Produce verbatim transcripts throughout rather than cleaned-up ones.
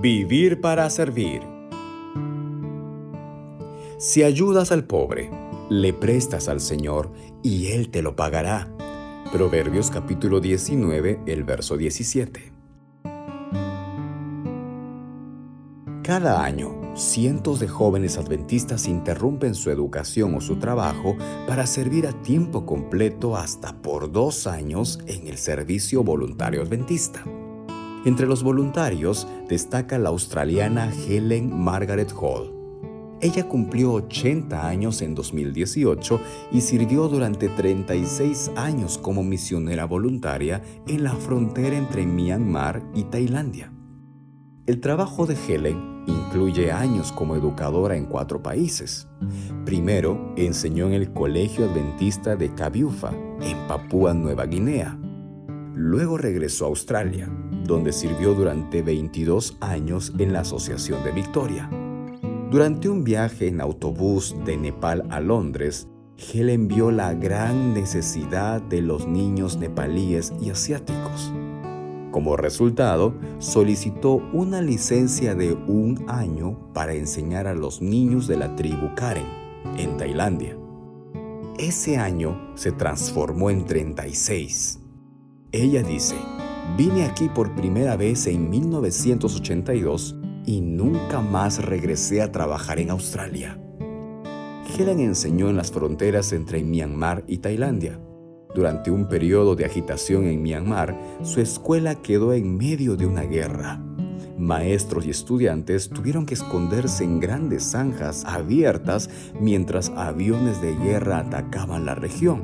Vivir para servir. Si ayudas al pobre, le prestas al Señor y Él te lo pagará. Proverbios capítulo diecinueve, el verso diecisiete. Cada año, cientos de jóvenes adventistas interrumpen su educación o su trabajo para servir a tiempo completo hasta por dos años en el servicio voluntario adventista. Entre los voluntarios destaca la australiana Helen Margaret Hall. Ella cumplió ochenta años en dos mil dieciocho y sirvió durante treinta y seis años como misionera voluntaria en la frontera entre Myanmar y Tailandia. El trabajo de Helen incluye años como educadora en cuatro países. Primero, enseñó en el Colegio Adventista de Kabiufa, en Papúa Nueva Guinea. Luego regresó a Australia, donde sirvió durante veintidós años en la Asociación de Victoria. Durante un viaje en autobús de Nepal a Londres, Helen vio la gran necesidad de los niños nepalíes y asiáticos. Como resultado, solicitó una licencia de un año para enseñar a los niños de la tribu Karen, en Tailandia. Ese año se transformó en treinta y seis. Ella dice: «Vine aquí por primera vez en mil novecientos ochenta y dos y nunca más regresé a trabajar en Australia». Helen enseñó en las fronteras entre Myanmar y Tailandia. Durante un periodo de agitación en Myanmar, su escuela quedó en medio de una guerra. Maestros y estudiantes tuvieron que esconderse en grandes zanjas abiertas mientras aviones de guerra atacaban la región.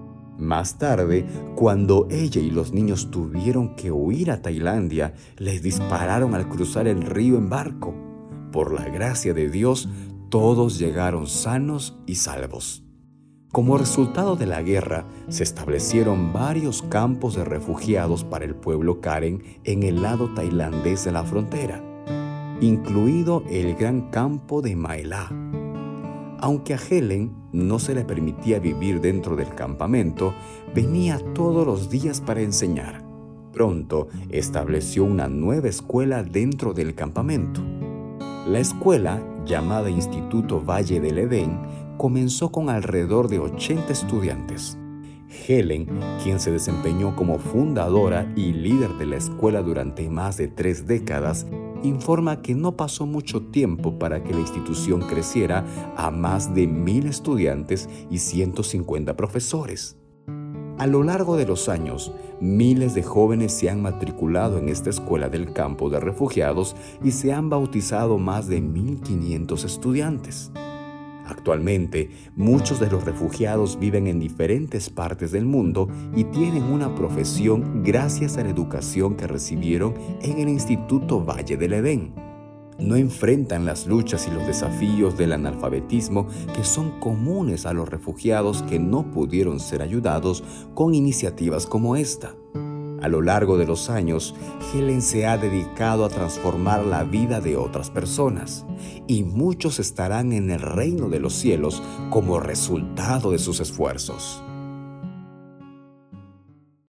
Más tarde, cuando ella y los niños tuvieron que huir a Tailandia, les dispararon al cruzar el río en barco. Por la gracia de Dios, todos llegaron sanos y salvos. Como resultado de la guerra, se establecieron varios campos de refugiados para el pueblo Karen en el lado tailandés de la frontera, incluido el gran campo de Mae La. Aunque a Helen no se le permitía vivir dentro del campamento, venía todos los días para enseñar. Pronto estableció una nueva escuela dentro del campamento. La escuela, llamada Instituto Valle del Edén, comenzó con alrededor de ochenta estudiantes. Helen, quien se desempeñó como fundadora y líder de la escuela durante más de tres décadas, informa que no pasó mucho tiempo para que la institución creciera a más de mil estudiantes y ciento cincuenta profesores. A lo largo de los años, miles de jóvenes se han matriculado en esta escuela del campo de refugiados y se han bautizado más de mil quinientos estudiantes. Actualmente, muchos de los refugiados viven en diferentes partes del mundo y tienen una profesión gracias a la educación que recibieron en el Instituto Valle del Edén. No enfrentan las luchas y los desafíos del analfabetismo que son comunes a los refugiados que no pudieron ser ayudados con iniciativas como esta. A lo largo de los años, Helen se ha dedicado a transformar la vida de otras personas, y muchos estarán en el reino de los cielos como resultado de sus esfuerzos.